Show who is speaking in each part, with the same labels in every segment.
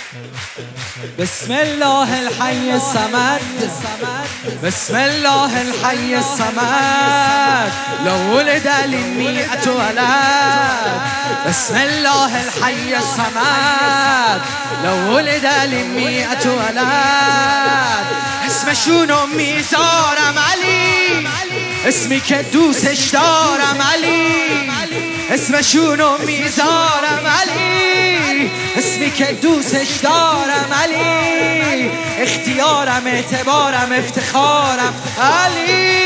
Speaker 1: بسم الله الحي الصمد، بسم الله الحي الصمد، لو ولد للمئة ولد. بسم الله الحي الصمد، لو ولد للمئة ولد. اسمشون امي زارم علی، اسمی که دوستش دارم علی. اسمشون امی زارم علی، اسمی که دوستش دارم علی. اختیارم، اعتبارم، افتخارم علی.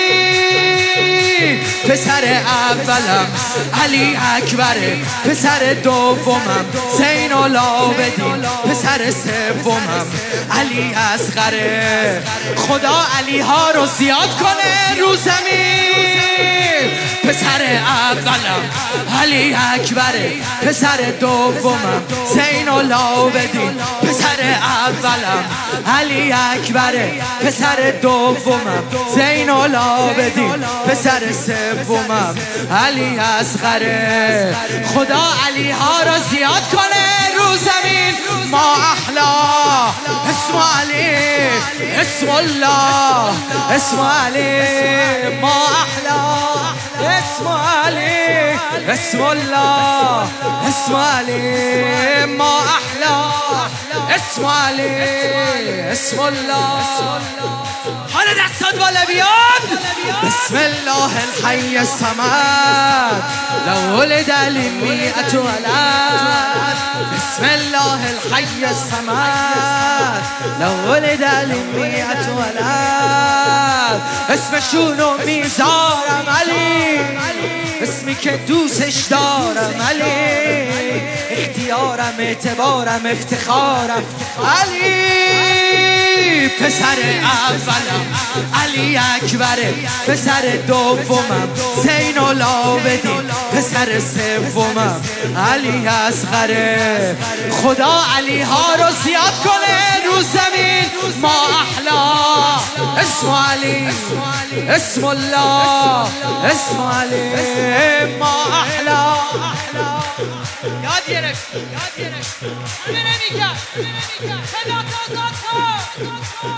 Speaker 1: پسر اولم علی اکبره، پسر دومم زین العابدین، پسر سومم علی اصغره. خدا علی ها رو زیاد کنه رو زمین. پسر اولم علی اکبره، پسر دومم زین العابدین، پسر اولم علی اکبره، پسر دومم زین العابدین، پسر سومم علی اصغره. خدا علی ها رو زیاد کنه رو زمین. ما احلا اسم علی، اسم الله، اسم علی. ما احلا اسم علی، اسم الله، اسم علی. ما احلا اسم علی، اسم الله. حالا دستات بالا بیاد. بسم الله الحي الصمد، لو ولد للمئة ولد. بسم الله الحي الصمد، لو ولد للمئة ولد. اسمشون امی زارم علی، اسمی که دوستش دارم علی. اختیارم، اعتبارم، افتخارم علی. پسر اولم علی اکبره، پسر دومم زین العابدین، پسر سومم علی اصغره. خدا علی ها رو زیاد کنه رو زمین. ما احلا اسم علی، اسم الله، اسم علی. ما احلا یاد گرفت، یاد گرفت. همه نمیگن، صدا تازاد کن.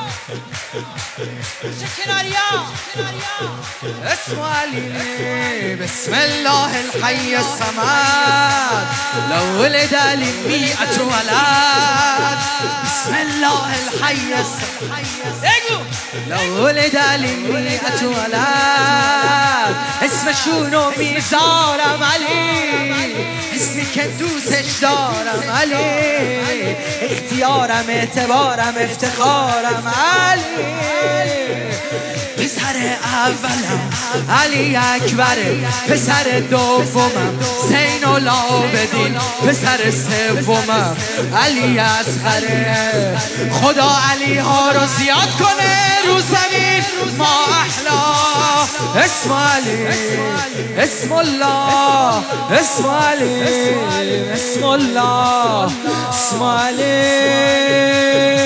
Speaker 1: چه کناریا اسم علی. بسم الله الحي الصمد، لو ولد للمئة ولد. بسم الله الحي الصمد، لو ولد للمئة ولد. اسمشون امی زارم علی، اسمی که دوستش دارم علی. اختیارم، اعتبارم، افتخارم علی. پسر اولم علی اکبره، پسر دومم زین العابدین، پسر سومم علی اصغره. خدا علی ها رو زیاد کنه رو زمین. ما احلا اسم علی، اسم الله، اسم علی، اسم الله، اسم علی.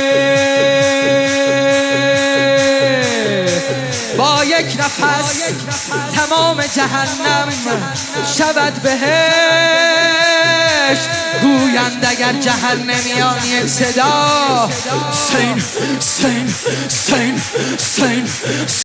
Speaker 1: با یک نفس تمام جهنم شود بهشت. گویند اگر جهنمیان یک صدا سین سین سین سین